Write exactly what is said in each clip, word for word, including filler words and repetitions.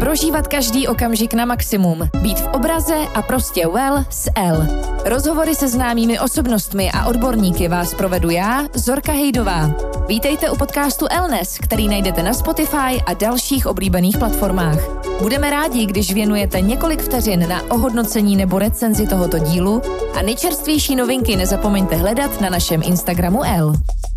Prožívat každý okamžik na maximum. Být v obraze a prostě well s L. Rozhovory se známými osobnostmi a odborníky vás provedu já, Zorka Hejdová. Vítejte u podcastu Lnes, který najdete na Spotify a dalších oblíbených platformách. Budeme rádi, když věnujete několik vteřin na ohodnocení nebo recenzi tohoto dílu a nejčerstvější novinky nezapomeňte hledat na našem Instagramu L.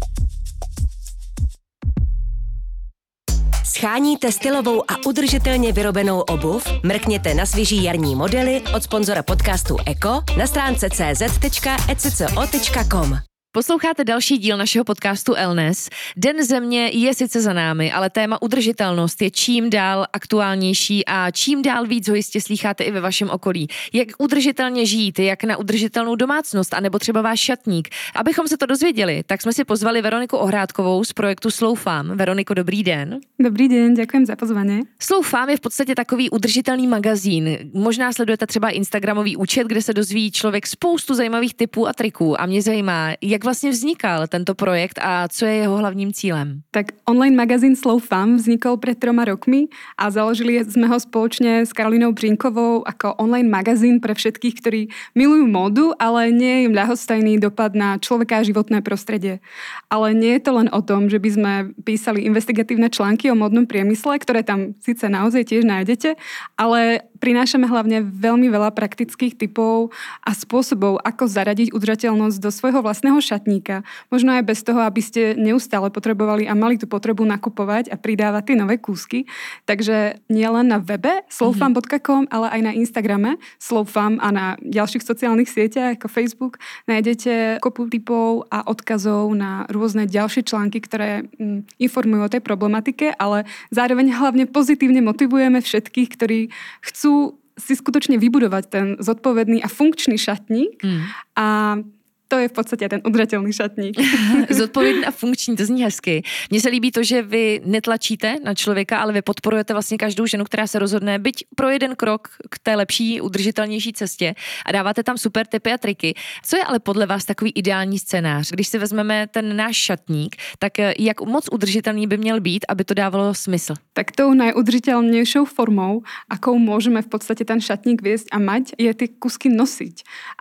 Scháníte stylovou a udržitelně vyrobenou obuv? Mrkněte na svěží jarní modely od sponzora podcastu Eko na stránce c z tečka e c c o tečka com. Posloucháte další díl našeho podcastu Lnes. Den země je sice za námi, ale téma udržitelnost je čím dál aktuálnější a čím dál víc ho jistě slýcháte i ve vašem okolí. Jak udržitelně žít, jak na udržitelnou domácnost, anebo třeba váš šatník. Abychom se to dozvěděli, tak jsme si pozvali Veroniku Ohrádkovou z projektu Slow Farm. Veroniko, dobrý den. Dobrý den, děkujem za pozvání. Slow Farm je v podstatě takový udržitelný magazín. Možná sledujete třeba Instagramový účet, kde se dozví člověk spoustu zajímavých tipů a triků. A mě zajímá, jak vlastně vznikal tento projekt a co je jeho hlavním cílem? Tak online magazín Slow Farm vznikol pred troma rokmi a založili sme ho spoločne s Karolínou Břínkovou ako online magazín pre všetkých, ktorí milujú módu, ale nie je im ľahostajný dopad na človeka a životné prostredie. Ale nie je to len o tom, že by sme písali investigatívne články o módnom priemysle, ktoré tam síce naozaj tiež nájdete, ale prinášame hlavne veľmi veľa praktických tipov a spôsobov, ako zaradiť udržateľnosť do svojho vlastného šatníka. Možno aj bez toho, aby ste neustále potrebovali a mali tú potrebu nakupovať a pridávať tie nové kúsky. Takže nie len na webe slowfarm bodka com, ale aj na Instagrame Slowfarm a na ďalších sociálnych sieťach ako Facebook nájdete kopu tipov a odkazov na rôzne ďalšie články, ktoré mm, informujú o tej problematike, ale zároveň hlavne pozitívne motivujeme všetkých, ktorí chcú si skutočne vybudovať ten zodpovedný a funkčný šatník mm. a to je v podstatě ten udržatelný šatník. Zodpovědný a funkční, to zní hezky. Mně se líbí to, že vy netlačíte na člověka, ale vy podporujete vlastně každou ženu, která se rozhodne byť pro jeden krok k té lepší, udržitelnější cestě a dáváte tam super tipy a triky. Co je ale podle vás takový ideální scénář? Když si vezmeme ten náš šatník, tak jak moc udržitelný by měl být, aby to dávalo smysl? Tak tou najudržiteľnejšou formou, akou môžeme v podstate ten šatník viesť a mať, je tie kusky nosiť.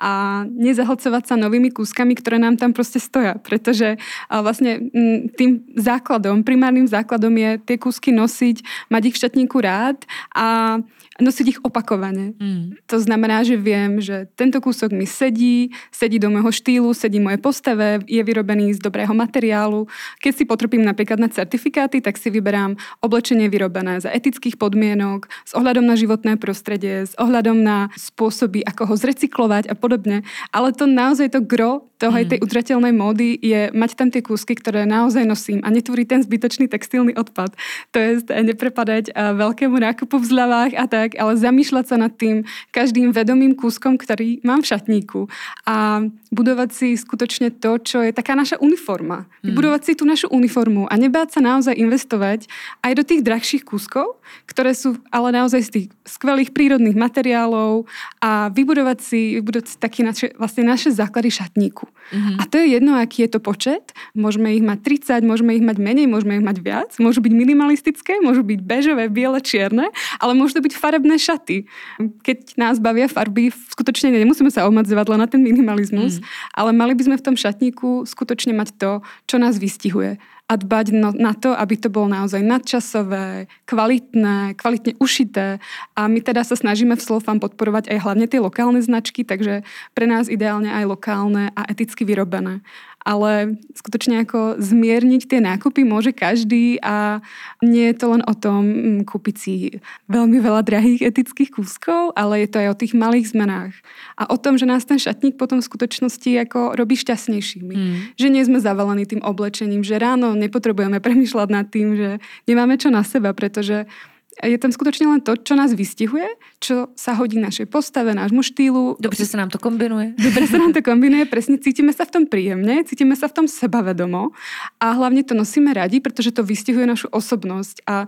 A nezahlcovať sa novými kúskami, ktoré nám tam proste stoja, pretože vlastne tým základom, primárnym základom je tie kúsky nosiť, mať ich v šatníku rád a nosiť ich opakovane. Mm. To znamená, že viem, že tento kúsok mi sedí, sedí do môjho štýlu, sedí mojej postave, je vyrobený z dobrého materiálu. Keď si potrpím napríklad na certifikáty, tak si vyberám oblečenie vyrobené za etických podmienok, s ohľadom na životné prostredie, s ohľadom na spôsoby, ako ho zrecyklovať a podobne. Ale to naozaj to gro toho aj tej udržateľnej módy je mať tam tie kúsky, ktoré naozaj nosím a netvorí ten zbytočný textilný odpad. To je neprepadať veľkému nákupu v zľavách a tak, ale zamýšľať sa nad tým každým vedomým kúskom, ktorý mám v šatníku a budovať si skutočne to, čo je taká naša uniforma. Vybudovať si tú našu uniformu a nebáť sa naozaj investovať aj do tých drahších kúskov, ktoré sú ale naozaj z tých skvelých prírodných materiálov a vybudovať si, vybudovať si taký naše, vlastne naše základy šatníku. Mm-hmm. A to je jedno, aký je to počet. Môžeme ich mať tridsať, môžeme ich mať menej, môžeme ich mať viac. Môžu byť minimalistické, môžu byť bežové, biele, čierne, ale môžu to byť farebné šaty. Keď nás bavia farby, skutočne nemusíme sa obmedzovať len na ten minimalizmus, mm. ale mali by sme v tom šatníku skutočne mať to, čo nás vystihuje. A dbať no, na to, aby to bolo naozaj nadčasové, kvalitné, kvalitne ušité. A my teda sa snažíme v Slow Farm podporovať aj hlavne tie lokálne značky, takže pre nás ideálne aj lokálne a eticky vyrobené. Ale skutočne ako zmierniť tie nákupy môže každý a nie je to len o tom kúpiť si veľmi veľa drahých etických kúskov, ale je to aj o tých malých zmenách. A o tom, že nás ten šatník potom v skutočnosti ako robí šťastnejšími. Mm. Že nie sme zavalení tým oblečením, že ráno nepotrebujeme premýšľať nad tým, že nemáme čo na seba, pretože je tam skutočne len to, čo nás vystihuje, čo sa hodí našej postave, nášmu štýlu. Dobře sa nám to kombinuje. Dobre sa nám to kombinuje, presne cítime sa v tom príjemne, cítime sa v tom sebavedomo a hlavne to nosíme radi, pretože to vystihuje našu osobnosť a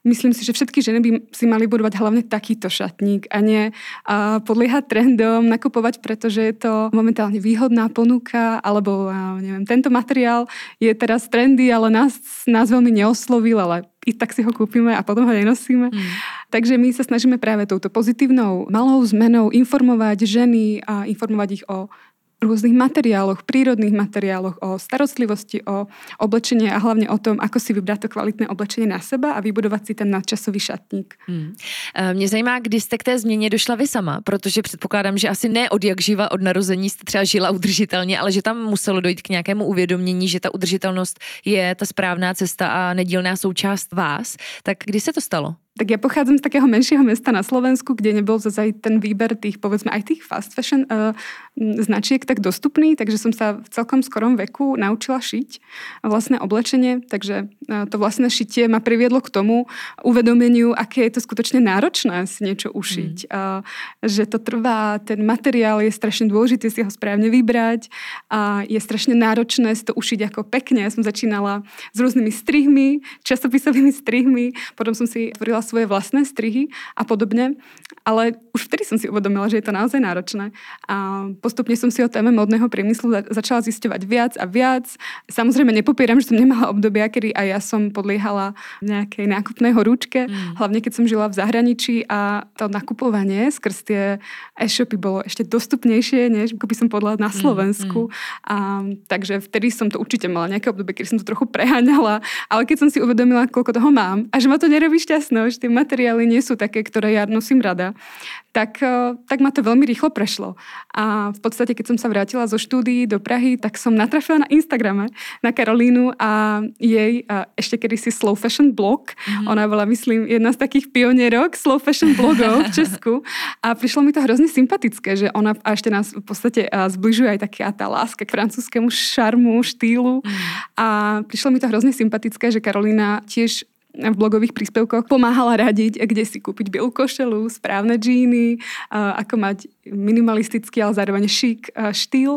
myslím si, že všetky ženy by si mali budovať hlavne takýto šatník a nie a podliehať trendom, nakupovať, pretože je to momentálne výhodná ponuka, alebo neviem, tento materiál je teraz trendy, ale nás, nás veľmi neoslovil, ale i tak si ho kúpime a potom ho nenosíme. Mm. Takže my sa snažíme práve touto pozitívnou malou zmenou informovať ženy a informovať ich o rôznych materiáloch, prírodných materiáloch, o starostlivosti, o oblečenie a hlavne o tom, ako si vybrať to kvalitné oblečenie na seba a vybudovat si ten nadčasový šatník. Hmm. Mě zajímá, kdy jste k té změně došla vy sama, protože předpokládám, že asi ne od jak živa, od narození jste třeba žila udržitelně, ale že tam muselo dojít k nějakému uvědomění, že ta udržitelnost je ta správná cesta a nedílná součást vás. Tak kdy se to stalo? Tak ja pochádzam z takého menšieho mesta na Slovensku, kde nebol zase ten výber tých, povedzme, aj tých fast fashion uh, značiek tak dostupný, takže som sa v celkom skorom veku naučila šiť vlastné oblečenie, takže uh, to vlastné šitie ma priviedlo k tomu uvedomeniu, aké je to skutočne náročné si niečo ušiť. Mm. Uh, že to trvá, ten materiál je strašne dôležitý si ho správne vybrať a je strašne náročné si to ušiť ako pekne. Ja som začínala s rôznymi strihmi, časopisovými strihmi, potom som si tvorila svoje vlastné strihy a podobne, ale už vtedy som si uvedomila, že je to naozaj náročné a postupne som si o téme modného priemyslu začala zisťovať viac a viac. Samozrejme nepopieram, že som nemala obdobia, kedy aj ja som podliehala nejakej nákupnej horúčke, mm. hlavne keď som žila v zahraničí a to nakupovanie skrz tie e-shopy bolo ešte dostupnejšie, než by som podľa na Slovensku. Mm. A, takže vtedy som to určite mala nejaké obdobie, kedy som to trochu preháňala, ale keď som si uvedomila, koľko toho mám a že ma to nerobí šťastnou, že tie materiály nie sú také, ktoré ja nosím rada, tak, tak ma to veľmi rýchlo prešlo. A v podstate, keď som sa vrátila zo štúdií do Prahy, tak som natrafila na Instagrame na Karolínu a jej a ešte kedysi slow fashion blog. Mm-hmm. Ona bola, myslím, jedna z takých pionierok slow fashion blogov v Česku. A prišlo mi to hrozne sympatické, že ona a ešte nás v podstate zbližuje aj taká tá láska k francúzskému šarmu, štýlu. Mm. A prišlo mi to hrozne sympatické, že Karolína tiež v blogových príspevkoch pomáhala radiť, kde si kúpiť bielú košelu, správne džíny, ako mať minimalistický, ale zároveň šik štýl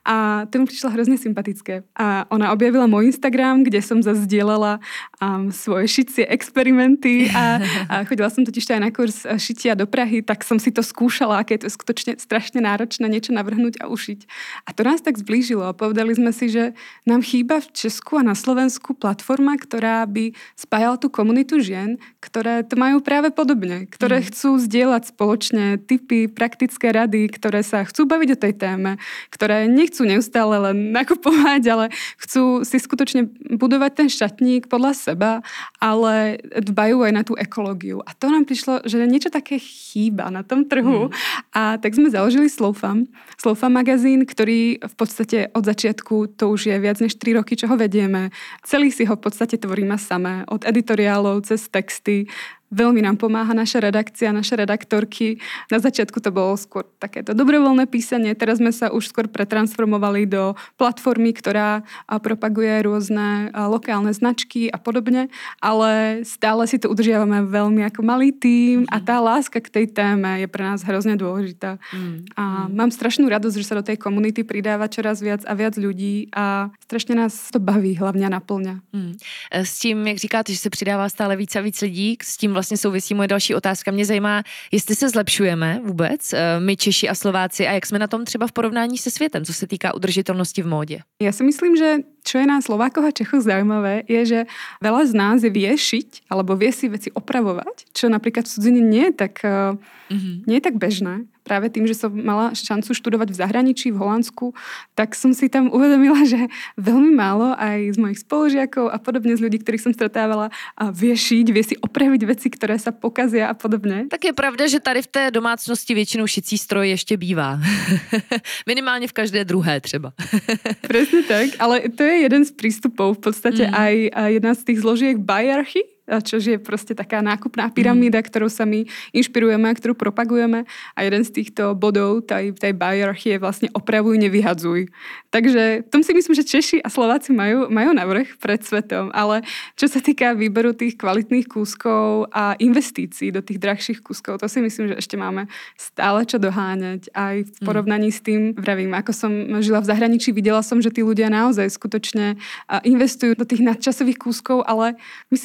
a to mi prišlo hrozne sympatické. A ona objavila môj Instagram, kde som zazdieľala um, svoje šicie experimenty a, a chodila som totiž aj na kurz šitia do Prahy, tak som si to skúšala, aké je to skutočne strašne náročné niečo navrhnúť a ušiť. A to nás tak zblížilo a povedali sme si, že nám chýba v Česku a na Slovensku platforma, ktorá by spájala tú komunitu žien, ktoré to majú práve podobne, ktoré mm. chcú zdieľať spoločne tipy, praktické rady, ktoré sa chcú baviť o tej téme, ktoré nechcú neustále len nakupovať, ale chcú si skutočne budovať ten šatník podľa seba, ale dbajú aj na tú ekológiu. A to nám prišlo, že niečo také chýba na tom trhu. Mm. A tak sme založili Slowfam. Slowfam magazín, ktorý v podstate od začiatku, to už je viac než tri roky, čo ho vedieme. Celý si ho v podstate tvoríme samé. Od editoriálov cez texty. Veľmi nám pomáha naša redakcia, naše redaktorky. Na začiatku to bolo skôr takéto dobrovoľné písanie, teraz sme sa už skôr pretransformovali do platformy, ktorá propaguje rôzne lokálne značky a podobne, ale stále si to udržiavame veľmi ako malý tím a tá láska k tej téme je pre nás hrozne dôležitá. Mm. A mám strašnú radosť, že sa do tej komunity pridáva čoraz viac a viac ľudí a strašne nás to baví, hlavne naplňa. Mm. S tím, jak říkáte, že se přidává stále víc a víc lidí, s tím vlastně souvisí moje další otázka. Mě zajímá, jestli se zlepšujeme vůbec, my Češi a Slováci, a jak jsme na tom třeba v porovnání se světem, co se týká udržitelnosti v móde. Ja si myslím, že čo je na Slovákoch a Čechoch zaujímavé, je, že veľa z nás vie šiť alebo vie si veci opravovať, čo napríklad v cudzine nie je tak, mm-hmm. nie je tak bežné. Práve tým, že som mala šancu študovať v zahraničí, v Holandsku, tak som si tam uvedomila, že veľmi málo aj z mojich spolužiakov a podobne z ľudí, ktorých som stretávala, vie šiť, vie si opraviť veci, ktoré sa pokazia a podobne. Tak je pravda, že tady v té domácnosti většinou šicí stroj ještě bývá. Minimálně v každé druhé třeba. Presne tak, ale to je jeden z prístupov, v podstate mm. aj jedna z tých zložiek Buyarchy, čo je proste taká nákupná pyramída, mm. ktorou sa my inšpirujeme a ktorú propagujeme. A jeden z týchto bodov tej, tej Buyarchy je vlastne opravuj, nevyhadzuj. Takže tom si myslím, že Češi a Slováci majú, majú navrch pred svetom. Ale čo sa týka výberu tých kvalitných kúskov a investícií do tých drahších kúskov, to si myslím, že ešte máme stále čo doháňať. Aj v porovnaní mm. s tým, vravím, ako som žila v zahraničí, videla som, že tí ľudia naozaj skutočne investujú do tých nadčasových kúskov, ale myslím si, že jeden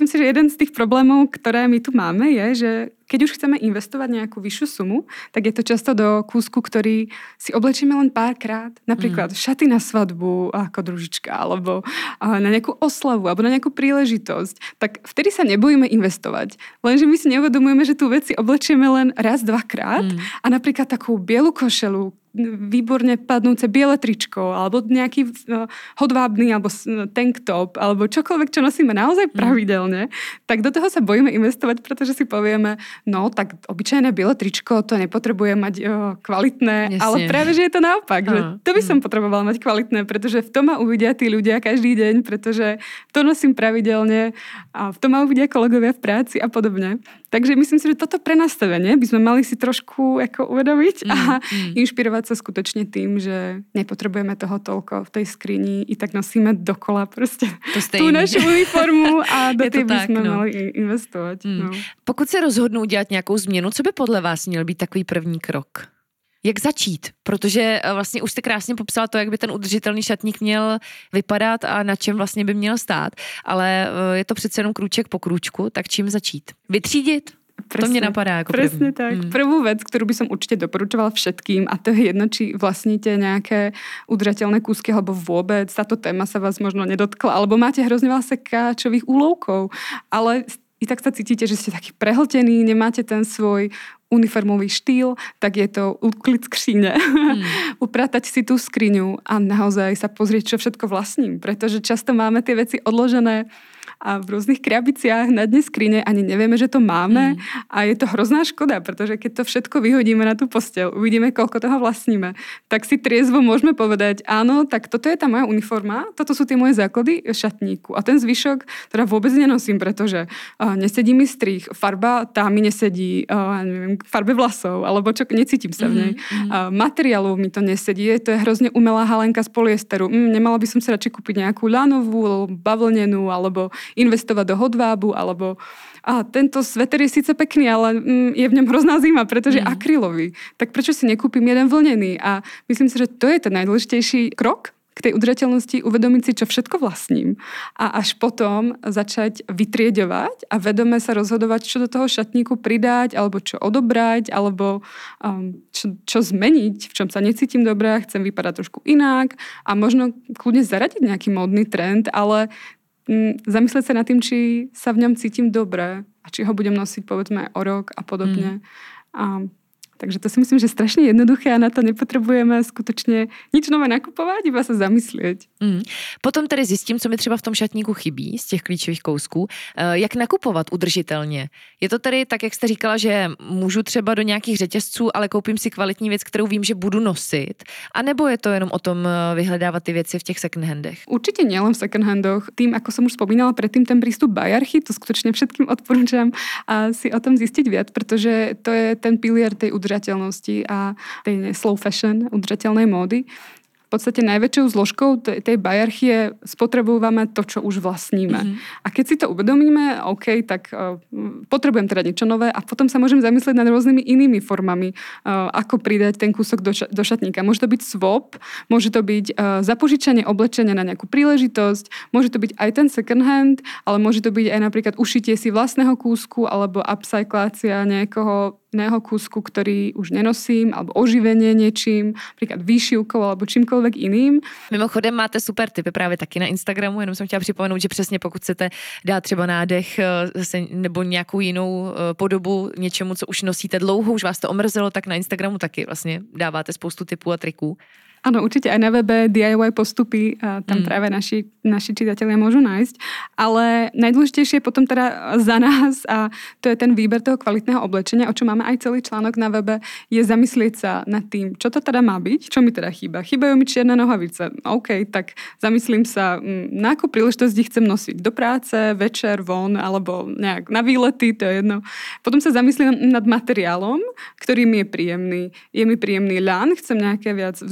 jeden z tých problémov, ktoré my tu máme, je, že keď už chceme investovať nejakú vyššiu sumu, tak je to často do kúsku, ktorý si oblečieme len párkrát. Napríklad mm. šaty na svadbu ako družička, alebo na nejakú oslavu, alebo na nejakú príležitosť. Tak vtedy sa nebojíme investovať. Lenže my si neuvedomujeme, že tú vec si oblečieme len raz, dvakrát mm. a napríklad takú bielu košelu, výborne padnúce biele tričko, alebo nejaký uh, hodvábny, alebo tank top, alebo čokoľvek, čo nosíme naozaj pravidelne, mm. tak do toho sa bojíme investovať, pretože si povieme, no tak obyčajné biele tričko, to nepotrebuje mať uh, kvalitné, Jasne. ale práve, že je to naopak, uh, že to by som mm. potrebovala mať kvalitné, pretože v tom ma uvidia tí ľudia každý deň, pretože to nosím pravidelne a v tom ma uvidia kolegovia v práci a podobne. Takže myslím si, že toto prenastavenie by sme mali si trošku ako uvedomiť mm, a mm. inšpirovať sa skutočne tým, že nepotrebujeme toho toľko v tej skrini i tak nosíme dokola proste tú našu uniformu a do tej by sme no. mali investovať. Mm. No. Pokud se rozhodnou dělat nějakou změnu, co by podle vás měl být takový první krok? Jak začít? Protože vlastně už jste krásně popsala to, jak by ten udržitelný šatník měl vypadat a na čem vlastně by měl stát. Ale je to přece jenom krůček po krůčku, tak čím začít? Vytřídit? Presne, to mne napadá ako první. Presne tak. Mm. Prvú vec, ktorú by som určite doporučovala všetkým, a to je jedno, či vlastníte nejaké udržateľné kúsky, alebo vôbec táto téma sa vás možno nedotkla, alebo máte hrozne veľa sekáčových úlovkov, ale i tak sa cítite, že ste taký prehltený, nemáte ten svoj uniformový štýl, tak je to ukliť skříne. Mm. Upratať si tú skriňu a naozaj sa pozrieť, čo všetko vlastním, pretože často máme tie veci odložené a v rôznych krabiciach na dne skrine ani nevieme, že to máme mm. a je to hrozná škoda, pretože keď to všetko vyhodíme na tú posteľ, uvidíme, koľko toho vlastníme, tak si triezvo môžeme povedať, áno, tak toto je tá moja uniforma, toto sú tie moje základy šatníku a ten zvyšok teda vôbec nenosím, pretože uh, nesedí mi strih, farba tá mi nesedí, uh, neviem, farbe vlasov, alebo čo, necítim sa v nej. Mm. Uh, materiálov mi to nesedí, to je hrozne umelá halenka z polyesteru. Mm, nemala by som si radšej kúpiť nejakú ľanovú, bavlnenú, alebo investovať do hodvábu, alebo a tento sveter je síce pekný, ale mm, je v ňom hrozná zima, pretože je mm. akrylový. Tak prečo si nekúpim jeden vlnený? A myslím si, že to je ten najdôležitejší krok k tej udržateľnosti, uvedomiť si, čo všetko vlastním a až potom začať vytrieďovať a vedome sa rozhodovať, čo do toho šatníku pridať, alebo čo odobrať, alebo um, čo, čo zmeniť, v čom sa necítim dobre, chcem vypadať trošku inak a možno kľudne zaradiť nejaký módny trend, ale zamyslieť sa nad tým, či sa v ňom cítim dobre a či ho budem nosiť povedzme o rok a podobne. Mm. A, takže to si myslím, že strašne jednoduché a na to nepotrebujeme skutečně nič nové nakupovat, iba se zamyslieť. Mm. Potom tedy zjistím, co mi třeba v tom šatníku chybí z těch klíčových kousků. Jak nakupovat udržitelně? Je to tedy tak, jak jste říkala, že můžu třeba do nějakých řetězců, ale koupím si kvalitní věc, kterou vím, že budu nosit? A nebo je to jenom o tom vyhledávat ty věci v těch second handech? Určite nielen v second handoch. Tým, ako som už spomínala predtým, ten prístup Bajachy, to skutočne všetkým odporúčam a si o tom zistiť viac, pretože to je ten pilier tej udržateľnosti a tej slow fashion, udržateľnej módy. V podstate najväčšou zložkou tej Bajachy spotrebujeme to, čo už vlastníme. Mm-hmm. A keď si to uvedomíme, OK, tak uh, potrebujem teda niečo nové a potom sa môžem zamyslieť nad rôznymi inými formami, uh, ako pridať ten kúsok do, ša- do šatníka. Môže to byť swap, môže to byť uh, zapožičanie oblečenia na nejakú príležitosť, môže to byť aj ten second hand, ale môže to byť aj napríklad ušitie si vlastného kúsku alebo upcyclácia nejakého iného kúsku, ktorý už nenosím, alebo oživenie niečím, napríklad výšivkou alebo čímkoľvek iným. Mimochodem máte super tipy právě taky na Instagramu, jenom jsem chtěla připomenout, že přesně pokud chcete dát třeba nádech nebo nějakou jinou podobu něčemu, co už nosíte dlouho, už vás to omrzelo, tak na Instagramu taky vlastně dáváte spoustu tipů a triků. Áno, určite aj na webe D I Y postupy, a tam mm. práve naši, naši čitatelia môžu nájsť, ale najdôležitejšie je potom teda za nás a to je ten výber toho kvalitného oblečenia, o čom máme aj celý článok na webe, je zamyslieť sa nad tým, čo to teda má byť, čo mi teda chýba. Chýbajú mi čierne nohavice. OK, tak zamyslím sa, na akú príležitosť chcem nosiť do práce, večer, von, alebo nejak na výlety, to je jedno. Potom sa zamyslím nad materiálom, ktorý mi je príjemný. Je mi príjemný ľan, chcem nejaké viac vzdušné,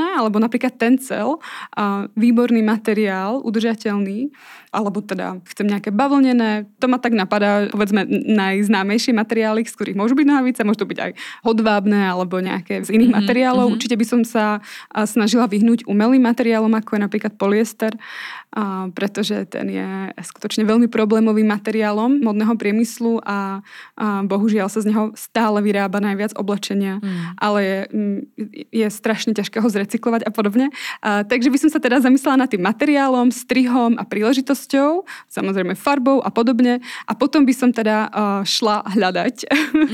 udržateľné, alebo napríklad tencel, výborný materiál, udržateľný, alebo teda chcem nejaké bavlnené. To ma tak napadá, povedzme, najznámejšie materiály, z ktorých môžu byť nohavice, môžu to byť aj hodvábne alebo nejaké z iných mm-hmm, materiálov. Mm-hmm. Určite by som sa snažila vyhnúť umelým materiálom, ako je napríklad polyester, a pretože ten je skutočne veľmi problémovým materiálom modného priemyslu a, a bohužiaľ sa z neho stále vyrába najviac oblečenia, mm. ale je, je strašne ťažké ho zrecyklovať a podobne. A, takže by som sa teda zamyslela nad tým materiálom, strihom a príležitosťou, samozrejme farbou a podobne. A potom by som teda uh, šla hľadať.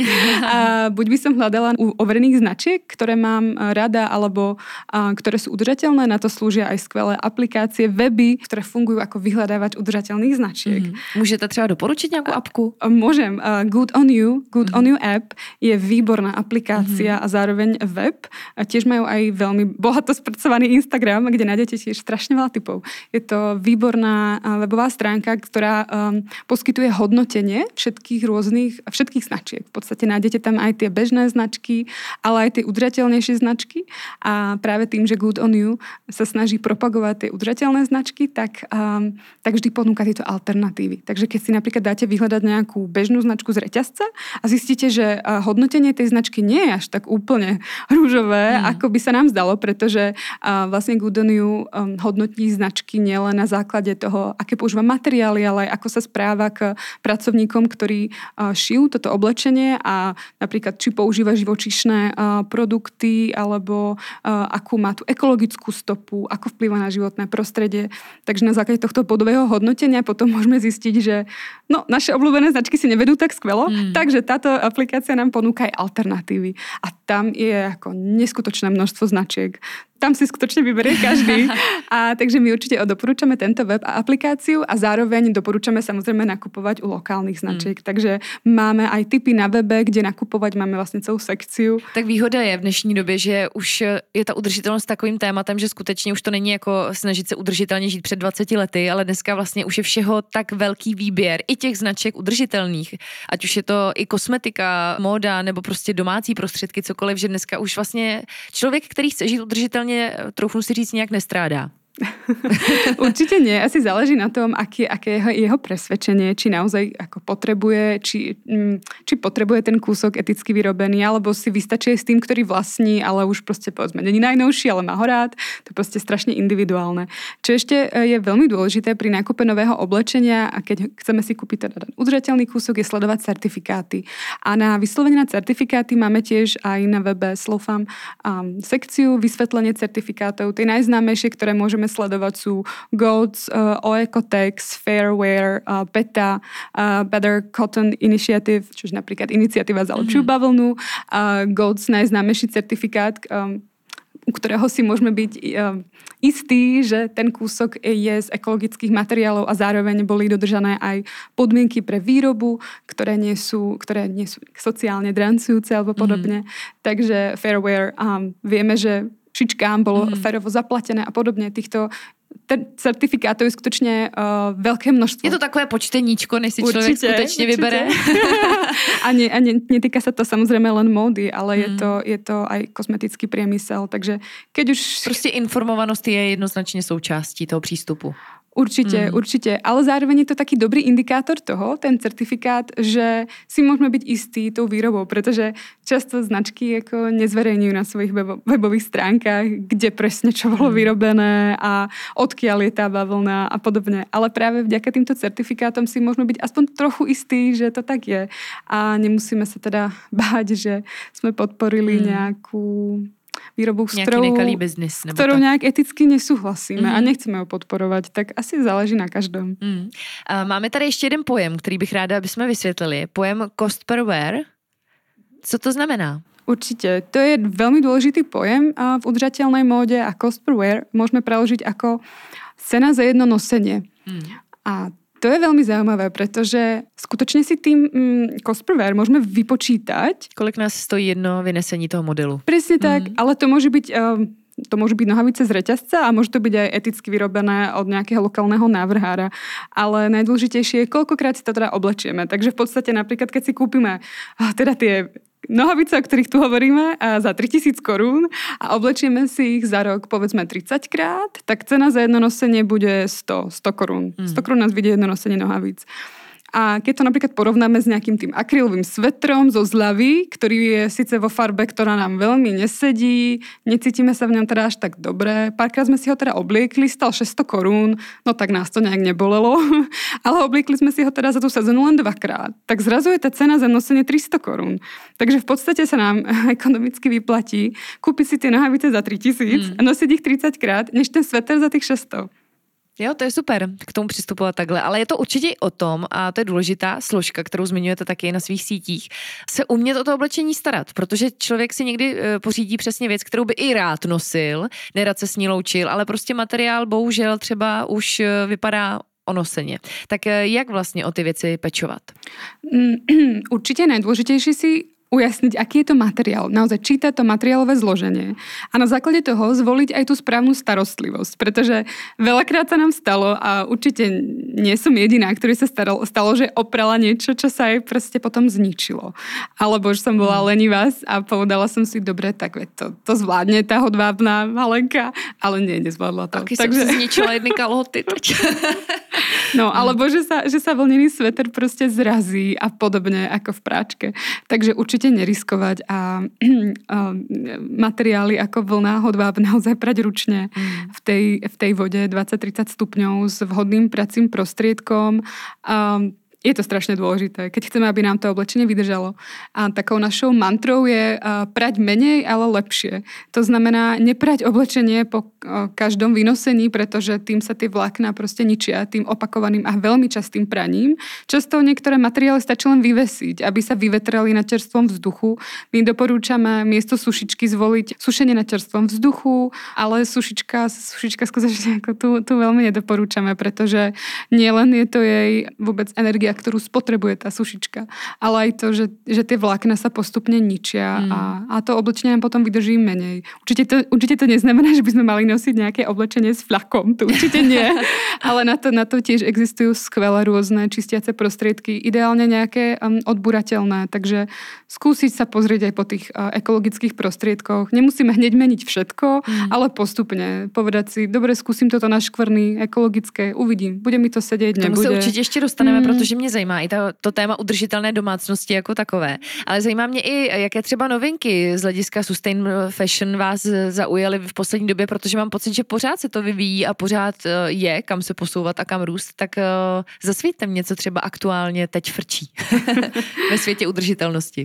a buď by som hľadala u overených značiek, ktoré mám rada, alebo uh, ktoré sú udržateľné. Na to slúžia aj skvelé aplikácie, weby, ktoré fungujú ako vyhľadávač udržateľných značiek. Mm. Môžete třeba doporučiť nejakú apku? Môžem. Uh, Good on You, Good mm. on You app je výborná aplikácia mm. a zároveň web. A tiež majú aj veľmi bohato spracovaný Instagram, kde nájdete tiež strašne veľa typov. Je to výborná webová stránka, ktorá um, poskytuje hodnotenie všetkých rôznych, všetkých značiek. V podstate nájdete tam aj tie bežné značky, ale aj tie udržateľnejšie značky. A práve tým, že Good on You sa snaží propagovať tie udržateľné značky, tak, um, tak vždy ponúka tieto alternatívy. Takže keď si napríklad dáte vyhľadať nejakú bežnú značku z reťazca a zistíte, že uh, hodnotenie tej značky nie je až tak úplne rúžové, mm. ako by sa nám zdalo, pretože uh, vlastne Good on You um, hodnotí značky nielen na základe toho, aké používa materiály, ale aj ako sa správa k pracovníkom, ktorí uh, šijú toto oblečenie a napríklad či používa živočíšne uh, produkty alebo uh, akú má tú ekologickú stopu, ako vplýva na životné prostredie. Takže na základe tohto bodového hodnotenia potom môžeme zistiť, že no, naše obľúbené značky si nevedú tak skvelo, mm. takže táto aplikácia nám ponúka aj alternatívy. A tam je ako neskutočné množstvo značiek. Tam si skutočne vyberie každý. A takže my určite doporúčame tento web a aplikáciu a zároveň doporúčame samozrejme nakupovať u lokálnych značiek. Mm. Takže máme aj tipy na webe, kde nakupovať, máme vlastne celú sekciu. Tak výhoda je v dnešní době, že už je ta udržitelnost takovým tématem, že skutečně už to není jako snažit se udržitelně žít před dvaceti lety, ale dneska vlastně už je všeho tak velký výběr i těch značek udržitelných. Ať už je to i kosmetika, móda nebo prostě domácí prostředky, cokoliv, že dneska už vlastně člověk, který chce žít udržitelně, troufnu si říct, nějak nestrádá. Určite nie. Asi záleží na tom, aké, aké jeho, jeho presvedčenie, či naozaj ako potrebuje, či, či potrebuje ten kúsok eticky vyrobený, alebo si vystačuje s tým, ktorý vlastní, ale už proste povedzme, není najnovší, ale má ho rád. To je proste strašne individuálne. Čo ešte je veľmi dôležité pri nákupe nového oblečenia, a keď chceme si kúpiť teda udržateľný kúsok, je sledovať certifikáty. A na vyslovene na certifikáty máme tiež aj na webe Slofam um, sekciu vysvetlenie certifikátov. Tie najznámejšie, ktoré môžeme sledovať sú Goats, uh, Oecotex, Fairwear, uh, PETA, uh, Better Cotton Initiative, čiže napríklad iniciatíva za lepšiu mm-hmm. bavlnu, uh, Goats najznámejší certifikát, um, u ktorého si môžeme byť um, istí, že ten kúsok je z ekologických materiálov a zároveň boli dodržané aj podmienky pre výrobu, ktoré nie sú, ktoré nie sú sociálne drancujúce alebo podobne. Mm-hmm. Takže Fairwear, um, vieme, že šičkám bolo mm. férovo zaplatené a podobne. Týchto ter- certifikátov je skutočne uh, veľké množstvo. Je to takové počteníčko, než si človek skutečne vybere. a nie, a nie, netýka sa to samozrejme len módy, ale mm. je, to, je to aj kosmetický priemysel. Takže keď už... Proste informovanosť je jednoznačne súčástí toho prístupu. Určite, mm. určite. Ale zároveň je to taký dobrý indikátor toho, ten certifikát, že si môžeme byť istí tou výrobou, pretože často značky ako nezverejňujú na svojich webo- webových stránkach, kde presne čo bolo vyrobené a odkiaľ je tá bavlna a podobne. Ale práve vďaka týmto certifikátom si môžeme byť aspoň trochu istí, že to tak je. A nemusíme sa teda báť, že sme podporili mm. nejakú výrobu, s ktorou, biznis, s ktorou nejak eticky nesúhlasíme mm. a nechceme ho podporovať, tak asi záleží na každom. Mm. Máme tady ještě jeden pojem, který bych ráda, aby jsme vysvětlili. Pojem cost per wear. Co to znamená? Určite. To je veľmi dôležitý pojem v udržateľnej móde a cost per wear môžeme preložiť ako cena za jedno nosenie. Mm. A to je veľmi zaujímavé, pretože skutočne si tým mm, cost per wear môžeme vypočítať. Kolik nás stojí jedno vynesení toho modelu. Presne tak, mm. ale to môže byť... Um, to môžu byť nohavice z reťazca a môže to byť aj eticky vyrobené od nejakého lokálneho návrhára. Ale najdôležitejšie je, koľkokrát si to teda oblečieme. Takže v podstate napríklad, keď si kúpime teda tie nohavice, o ktorých tu hovoríme, za tritisíc korún a oblečieme si ich za rok povedzme tridsať krát, tak cena za jedno nosenie bude sto korún. sto korún nás vidie jedno nosenie nohavíc. A keď to napríklad porovnáme s nejakým tým akrylovým svetrom zo zľavy, ktorý je síce vo farbe, ktorá nám veľmi nesedí, necítime sa v ňom teda až tak dobre. Párkrát sme si ho teda obliekli, stal šesťsto korún, no tak nás to nejak nebolelo, ale obliekli sme si ho teda za tú sezónu len dvakrát. Tak zrazu je tá cena za nosenie tristo korún. Takže v podstate sa nám ekonomicky vyplatí kúpiť si tie nohavice za tritisíc mm. a nosiť ich tridsať krát, než ten sveter za tých šesťsto. Jo, to je super k tomu přistupovat takhle, ale je to určitě i o tom, a to je důležitá složka, kterou zmiňujete taky na svých sítích, se umět o to oblečení starat, protože člověk si někdy pořídí přesně věc, kterou by i rád nosil, nerad se s ní loučil, ale prostě materiál bohužel třeba už vypadá onoseně. Tak jak vlastně o ty věci pečovat? Určitě najdôležitejší si ujasniť, aký je to materiál. Naozaj čítať to materiálové zloženie a na základe toho zvoliť aj tú správnu starostlivosť, pretože veľakrát sa nám stalo a určite nie som jediná, ktorý sa stalo, stalo, že oprala niečo, čo sa aj proste potom zničilo. Alebo že som bola lenivá a povedala som si, dobre, tak to, to zvládne tá hodvábna malenka, ale nie, nezvládla to. Taky Takže... som si zničila jedny kalhoty. No, alebo že sa, že sa vlnený sveter proste zrazí a podobne ako v práčke. Takže určite neriskovať a, a materiály ako vlna hodváb naozaj prať ručne mm. v, tej, v tej vode dvadsať tridsať stupňov s vhodným pracím prostriedkom. A je to strašne dôležité, keď chceme, aby nám to oblečenie vydržalo. A takou našou mantrou je prať menej, ale lepšie. To znamená neprať oblečenie po každom vynosení, pretože tým sa tie vlákna proste ničia, tým opakovaným a veľmi častým praním. Často niektoré materiály stačí len vyvesiť, aby sa vyvetrali na čerstvom vzduchu. My doporúčame miesto sušičky zvoliť sušenie na čerstvom vzduchu, ale sušička, sušička skutočne ako tu, tu veľmi nedoporúčame, pretože nielen je to jej vôbec energia, ktorú spotrebuje tá sušička, ale aj to, že, že tie vlákna sa postupne ničia mm. a, a to oblečenie potom vydrží menej. Určite to, určite to neznamená, že by sme mali nosiť nejaké oblečenie s fľakom, to určite nie, ale na to, na to tiež existujú skvelé rôzne čistiace prostriedky, ideálne nejaké um, odburateľné, takže skúsiť sa pozrieť aj po tých uh, ekologických prostriedkoch. Nemusíme hneď meniť všetko, mm. ale postupne povedať si, dobre, skúsim toto na škvrny, ekologické, uvidím, bude mi to sedieť, nebude. Tomu se určitě ještě dostaneme, mm. protože mě zajímá i to, to téma udržitelné domácnosti jako takové. Ale zajímá mě i, jaké třeba novinky z hlediska sustain fashion vás zaujaly v poslední době, protože mám pocit, že pořád se to vyvíjí a pořád je kam se posouvat a kam růst. Tak uh, zasvíťte mě, co třeba aktuálně teď frčí ve světě udržitelnosti.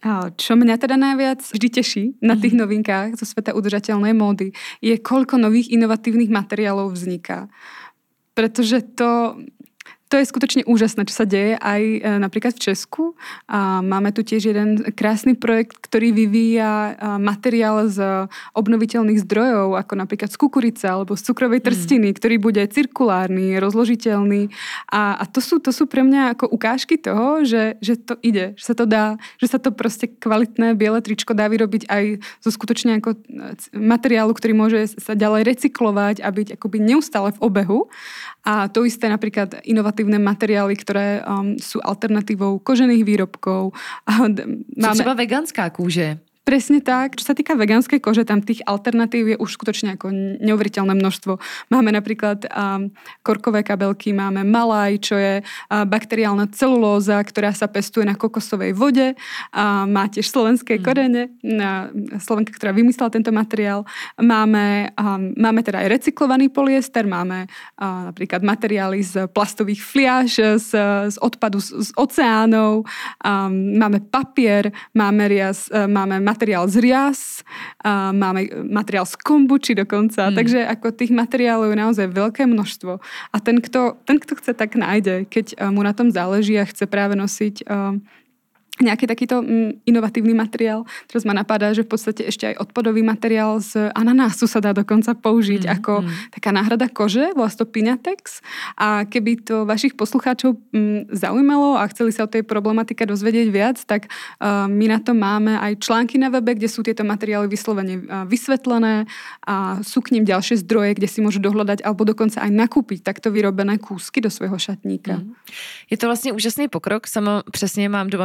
Čo mňa teda najviac vždy teší na tých novinkách zo sveta udržateľnej módy, je koľko nových inovatívnych materiálov vzniká. Pretože to... To je skutočne úžasné, čo sa deje aj e, napríklad v Česku. A máme tu tiež jeden krásny projekt, ktorý vyvíja e, materiál z obnoviteľných zdrojov, ako napríklad z kukurice alebo z cukrovej trstiny, mm. ktorý bude cirkulárny, rozložiteľný. A, a to, sú, to sú pre mňa ako ukážky toho, že, že to ide, že sa to dá, že sa to proste kvalitné biele tričko dá vyrobiť aj zo skutočne ako materiálu, ktorý môže sa ďalej recyklovať a byť akoby neustále v obehu. A to isté napríklad inovatívne materiály, ktoré um, sú alternatívou kožených výrobkov. Máme... Třeba veganská kůže. Presne tak. Čo sa týka vegánskej kože, tam tých alternatív je už skutočne ako neuveriteľné množstvo. Máme napríklad um, korkové kabelky, máme malaj, čo je uh, bakteriálna celulóza, ktorá sa pestuje na kokosovej vode. Uh, má tiež slovenské mm. korene. Uh, Slovenka, ktorá vymyslela tento materiál. Máme, um, máme teda aj recyklovaný polyester, máme uh, napríklad materiály z plastových fliaž, z, z odpadu z, z oceánov. Um, máme papier, máme rias, uh, máme materiál z rias, a máme materiál z kombuči dokonca, mm. takže ako tých materiálov je naozaj veľké množstvo. A ten, kto, ten, kto chce, tak nájde, keď mu na tom záleží a chce práve nosiť uh, nejaký takýto mm, inovatívny materiál. Teraz ma napadá, že v podstate ešte aj odpadový materiál z ananásu sa dá dokonca použiť mm, ako mm. taká náhrada kože, volá to Pinatex. A keby to vašich poslucháčov mm, zaujímalo a chceli sa o tej problematike dozvedieť viac, tak uh, my na to máme aj články na webe, kde sú tieto materiály vyslovene uh, vysvetlené a sú k ním ďalšie zdroje, kde si môžu dohľadať alebo dokonca aj nakúpiť takto vyrobené kúsky do svojho šatníka. Mm. Je to vlastne úžasný pokrok. Sama přesně mám doma běžecký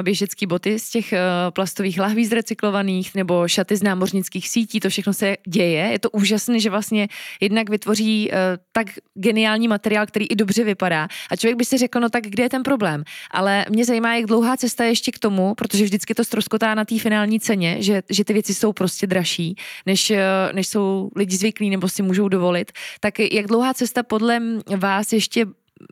čeští boty z těch plastových lahví z recyklovaných nebo šaty z námořnických sítí, to všechno se děje. Je to úžasné, že vlastně jednak vytvoří tak geniální materiál, který i dobře vypadá. A člověk by si řekl, no tak kde je ten problém? Ale mě zajímá, jak dlouhá cesta je ještě k tomu, protože vždycky to ztroskotá na té finální ceně, že, že ty věci jsou prostě dražší, než, než jsou lidi zvyklí nebo si můžou dovolit. Tak jak dlouhá cesta podle vás ještě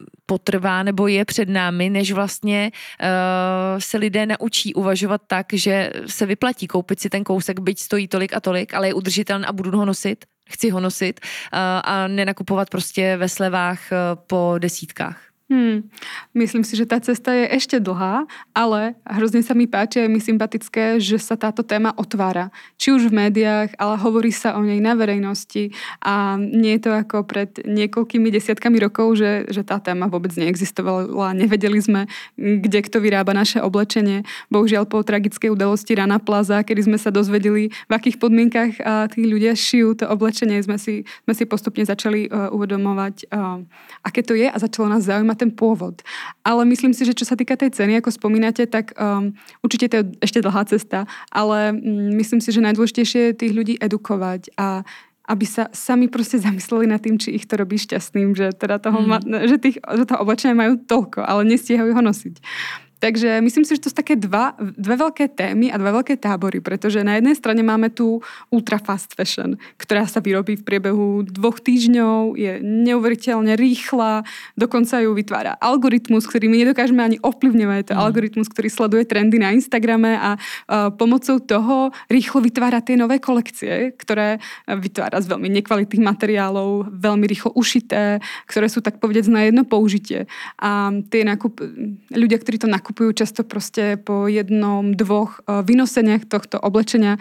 potrvá nebo je před námi, než vlastně uh, se lidé naučí uvažovat tak, že se vyplatí koupit si ten kousek, byť stojí tolik a tolik, ale je udržitelný a budu ho nosit, chci ho nosit uh, a nenakupovat prostě ve slevách uh, po desítkách. Hmm. Myslím si, že tá cesta je ešte dlhá, ale hrozne sa mi páči a je mi sympatické, že sa táto téma otvára. Či už v médiách, ale hovorí sa o nej na verejnosti a nie je to ako pred niekoľkými desiatkami rokov, že, že tá téma vôbec neexistovala. Nevedeli sme, kde kto vyrába naše oblečenie. Bohužiaľ po tragickej udalosti Rana Plaza, kedy sme sa dozvedeli, v akých podmienkach tí ľudia šijú to oblečenie, sme si, sme si postupne začali uh, uvedomovať, uh, aké to je a začalo nás zaujímať ten pôvod. Ale myslím si, že čo sa týka tej ceny, ako spomínate, tak um, určite to je ešte dlhá cesta, ale um, myslím si, že najdôležitejšie je tých ľudí edukovať a aby sa sami proste zamysleli nad tým, či ich to robí šťastným, že teda toho, mm. ma, že, tých, že toho oblečenia majú toľko, ale nestíhajú ho nosiť. Takže myslím si, že to sú také dva, dve veľké témy a dva veľké tábory, pretože na jednej strane máme tu ultra fast fashion, ktorá sa vyrobí v priebehu dvoch týždňov, je neuveriteľne rýchla, dokonca ju vytvára algoritmus, ktorý my nedokážeme ani ovplyvňovať. To mm. algoritmus, ktorý sleduje trendy na Instagrame a uh, pomocou toho rýchlo vytvára tie nové kolekcie, ktoré vytvára z veľmi nekvalitných materiálov, veľmi rýchlo ušité, ktoré sú tak povedať na jedno použitie. A tie nakup, ľudia, ktorí to nakupujú, kupujú často proste po jednom, dvoch vynoseniach tohto oblečenia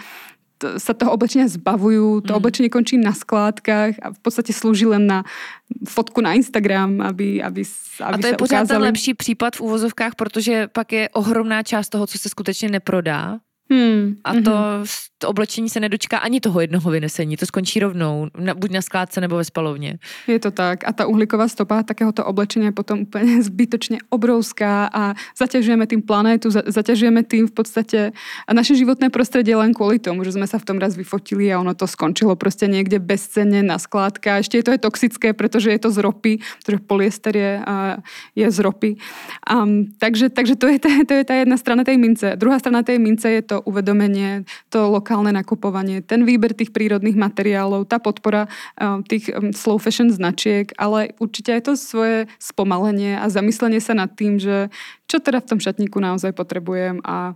sa toho oblečenia zbavujú, to mm. oblečenie končí na skládkach a v podstate slúži len na fotku na Instagram, aby, aby, aby a to je sa pořád ukázali. ten lepší případ v uvozovkách, protože pak je ohromná část toho, co se skutečně neprodá. Hmm. A to, to oblečení se nedočká ani toho jednoho vynesení. To skončí rovnou, na, buď na skládce nebo ve spalovně. Je to tak. A tá uhlíková stopa takéhoto oblečenia je potom úplne zbytočne obrovská a zaťažujeme tým planétu, za, zaťažujeme tým v podstate naše životné prostredie len kvôli tomu, že sme sa v tom raz vyfotili a ono to skončilo proste niekde bezcenne na skládka. Ešte je to aj toxické, pretože je to z ropy, pretože polyester je, je z ropy. Um, takže, takže to, je tá, to je tá jedna strana tej mince. Druhá strana tej mince je to uvedomenie, to lokálne nakupovanie, ten výber tých prírodných materiálov, tá podpora um, tých um, slow fashion značiek, ale určite aj to svoje spomalenie a zamyslenie sa nad tým, že čo teda v tom šatníku naozaj potrebujem a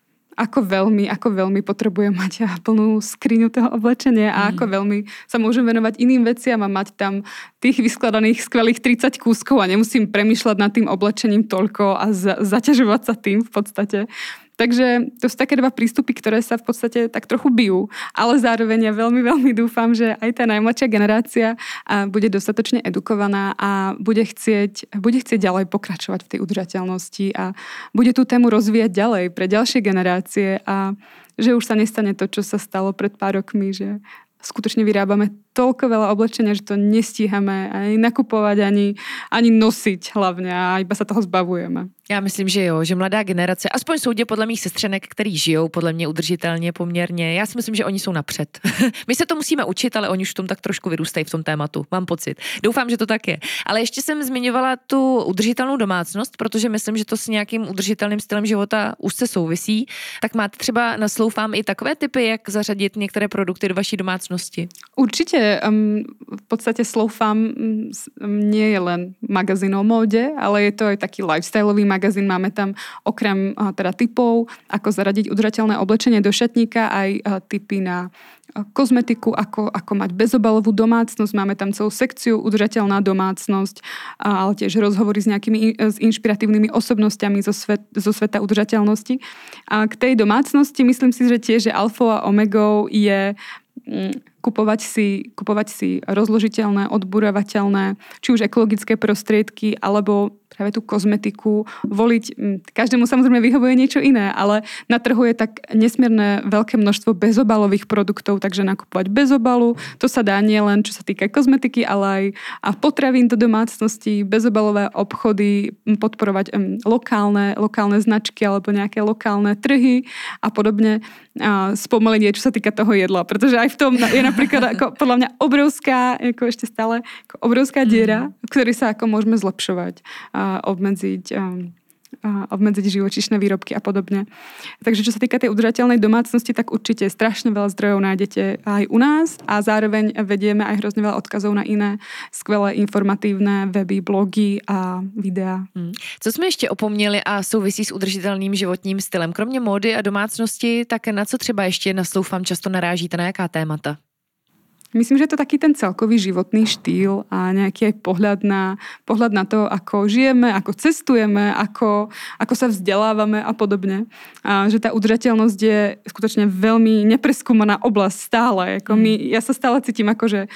ako veľmi, ako veľmi potrebujem mať plnú skriňu toho oblečenia a mm. ako veľmi sa môžem venovať iným veciam a mať tam tých vyskladaných skvelých tridsať kúskov a nemusím premýšľať nad tým oblečením toľko a za- zaťažovať sa tým v podstate. Takže to sú také dva prístupy, ktoré sa v podstate tak trochu bijú, ale zároveň ja veľmi, veľmi dúfam, že aj tá najmladšia generácia bude dostatočne edukovaná a bude chcieť, bude chcieť ďalej pokračovať v tej udržateľnosti a bude tú tému rozvíjať ďalej pre ďalšie generácie a že už sa nestane to, čo sa stalo pred pár rokmi, že skutočne vyrábame toľko veľa oblečenia, že to nestíhame ani nakupovať, ani, ani nosiť hlavne a iba sa toho zbavujeme. Já myslím, že jo, že mladá generace, aspoň soudě podle mých sestřenek, který žijou podle mě udržitelně poměrně, já si myslím, že oni jsou napřed. My se to musíme učit, ale oni už v tom tak trošku vyrůstají v tom tématu, mám pocit. Doufám, že to tak je. Ale ještě jsem zmiňovala tu udržitelnou domácnost, protože myslím, že to s nějakým udržitelným stylem života úzce souvisí. Tak máte třeba na Slowfam i takové typy, jak zařadit některé produkty do vaší domácnosti? Určite. Um, v podstate Slowfam um, nie je len magazín o móde, ale je to aj taký lifestyleový magazín. Máme tam okrem uh, teda typov, ako zaradiť udržateľné oblečenie do šatníka, aj uh, tipy na uh, kozmetiku, ako, ako mať bezobalovú domácnosť. Máme tam celú sekciu udržateľná domácnosť, uh, ale tiež rozhovory s nejakými uh, s inšpiratívnymi osobnostiami zo, svet, zo sveta udržateľnosti. A k tej domácnosti myslím si, že tiež, že alfou a omegou je kupovať si, kupovať si rozložiteľné, odburovateľné, či už ekologické prostriedky, alebo práve tú kozmetiku, voliť, každému samozrejme vyhovuje niečo iné, ale na trhu je tak nesmierne veľké množstvo bezobalových produktov, takže nakupovať bez obalu, to sa dá nie len čo sa týka kozmetiky, ale aj a potravín do domácnosti, bezobalové obchody, podporovať um, lokálne, lokálne značky alebo nejaké lokálne trhy a podobne. A spomalenie, čo sa týka toho jedla, pretože aj v tom je napríklad ako, podľa mňa obrovská, ako ešte stále ako obrovská diera, v ktorej sa ako môžeme zlepšovať a obmedziť, a obmedziť živočíšne výrobky a podobne. Takže čo sa týka tej udržateľnej domácnosti, tak určite strašne veľa zdrojov nájdete aj u nás a zároveň vedieme aj hrozne veľa odkazov na iné skvelé informatívne weby, blogy a videa. Hmm. Co jsme ještě opomněli a souvisí s udržitelným životním stylem? Kromě módy a domácnosti, tak na co třeba ještě na Sloufam často narážíte, na jaká témata? Myslím, že je to taký ten celkový životný štýl a nejaký aj pohľad na, pohľad na to, ako žijeme, ako cestujeme, ako, ako sa vzdelávame a podobne. A že tá udržateľnosť je skutočne veľmi nepreskúmaná oblasť stále. Ako my, ja sa stále cítim ako, že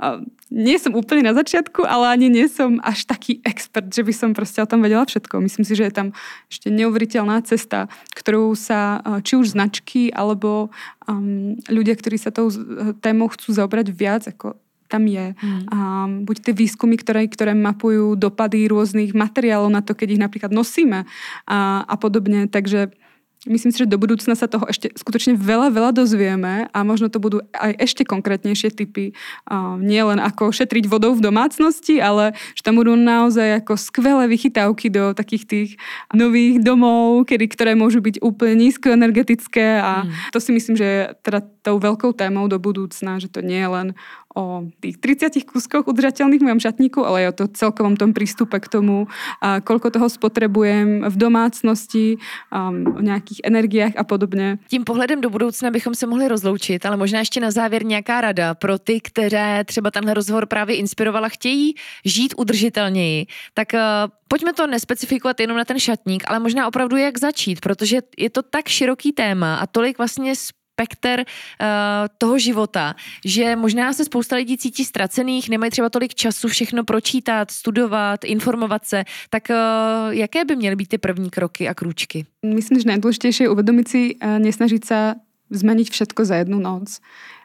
nie som úplne na začiatku, ale ani nie som až taký expert, že by som proste o tom vedela všetko. Myslím si, že je tam ešte neuveriteľná cesta, ktorú sa či už značky alebo um, ľudia, ktorí sa tou témou chcú zaobrať viac, ako tam je. Mm. Um, buď tie výskumy, ktoré, ktoré mapujú dopady rôznych materiálov na to, keď ich napríklad nosíme a, a podobne. Takže myslím si, že do budúcna sa toho ešte skutočne veľa, veľa dozvieme a možno to budú aj ešte konkrétnejšie tipy. Uh, nie len ako šetriť vodou v domácnosti, ale že tam budú naozaj ako skvelé vychytávky do takých tých nových domov, kedy, ktoré môžu byť úplne nízkoenergetické a mm. to si myslím, že je teda tou veľkou témou do budúcna, že to nie je len o tých tridsiatich kúskoch udržateľných v mojom šatníku, ale aj o to celkovom tom prístupe k tomu, a koľko toho spotrebujem v domácnosti, um, o nějakých energiách a podobně. Tím pohledem do budoucna bychom se mohli rozloučit, ale možná ještě na závěr nějaká rada pro ty, které třeba tenhle rozhovor právě inspirovala, chtějí žít udržitelněji. Tak uh, pojďme to nespecifikovat jenom na ten šatník, ale možná opravdu jak začít, protože je to tak široký téma a tolik vlastně spekter uh, toho života, že možná se spousta lidí cítí ztracených, nemají třeba tolik času všechno pročítat, studovat, informovat se, tak uh, jaké by měly být ty první kroky a krůčky? Myslím, že najdôležitejšie je uvedomiť si, uh, nesnažiť sa zmeniť všetko za jednu noc.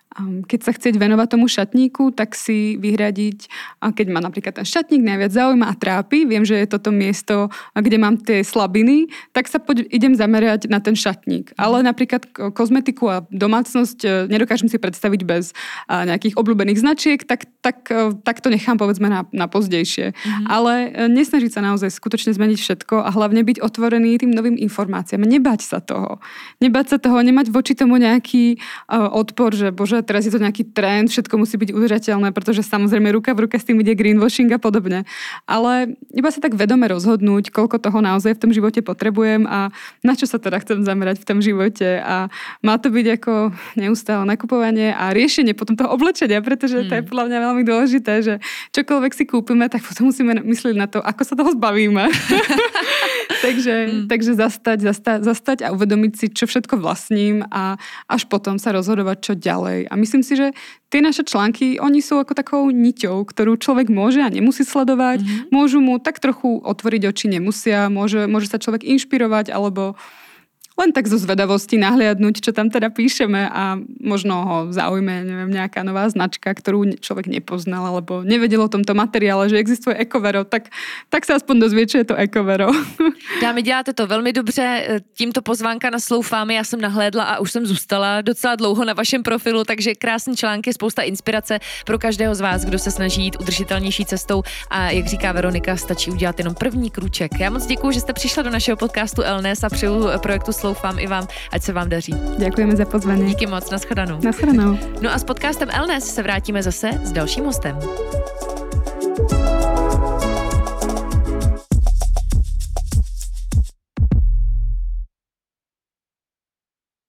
Keď sa chcieť venovať tomu šatníku, tak si vyhradiť, keď ma napríklad ten šatník najviac zaujíma a trápi, viem, že je toto miesto, kde mám tie slabiny, tak sa poď, idem zamerať na ten šatník. Ale napríklad kozmetiku a domácnosť nedokážem si predstaviť bez nejakých obľúbených značiek, tak, tak, tak to nechám povedzme na, na pozdejšie. Mhm. Ale nesnažiť sa naozaj skutočne zmeniť všetko a hlavne byť otvorený tým novým informáciám. Nebať sa toho. Nebať sa toho, nemať voči tomu nejaký uh, odpor, že bože, teraz je to nejaký trend, všetko musí byť udržateľné, pretože samozrejme ruka v ruke s tým ide greenwashing a podobne. Ale iba sa tak vedome rozhodnúť, koľko toho naozaj v tom živote potrebujem a na čo sa teda chcem zamerať v tom živote. A má to byť ako neustále nakupovanie a riešenie potom toho oblečenia, pretože hmm. to je podľa mňa veľmi dôležité, že čokoľvek si kúpime, tak potom musíme myslieť na to, ako sa toho zbavíme. takže, hmm. takže zastať, zastať, zastať a uvedomiť si, čo všetko vlastním a až potom sa rozhodovať, čo ďalej. A myslím si, že tie naše články, oni sú ako takou niťou, ktorú človek môže a nemusí sledovať. Mm-hmm. Môžu mu tak trochu otvoriť oči, nemusia. Môže, môže sa človek inšpirovať alebo len tak zo zvedavosti nahliadnúť, čo tam teda píšeme a možno ho zaujme, neviem, nejaká nová značka, ktorú človek nepoznal alebo nevedel o tomto materiále, že existuje Ecovero, tak, tak sa aspoň dozvie, čo je to Ecovero. Dámy, děláte to velmi dobře, tímto pozvánka na Sloufámy, já jsem nahlédla a už jsem zůstala docela dlouho na vašem profilu, takže krásný články, spousta inspirace pro každého z vás, kdo se snaží jít udržitelnější cestou a jak říká Veronika, stačí udělat jenom první krůček. Já moc děkuju, že jste přišla do našeho podcastu Elnes a přeju projektu Sloufám i vám, ať se vám daří. Děkujeme za pozvání. Díky moc, nashledanou. Nashledanou. No a s podcastem Elnes se vrátíme zase s dalším hostem.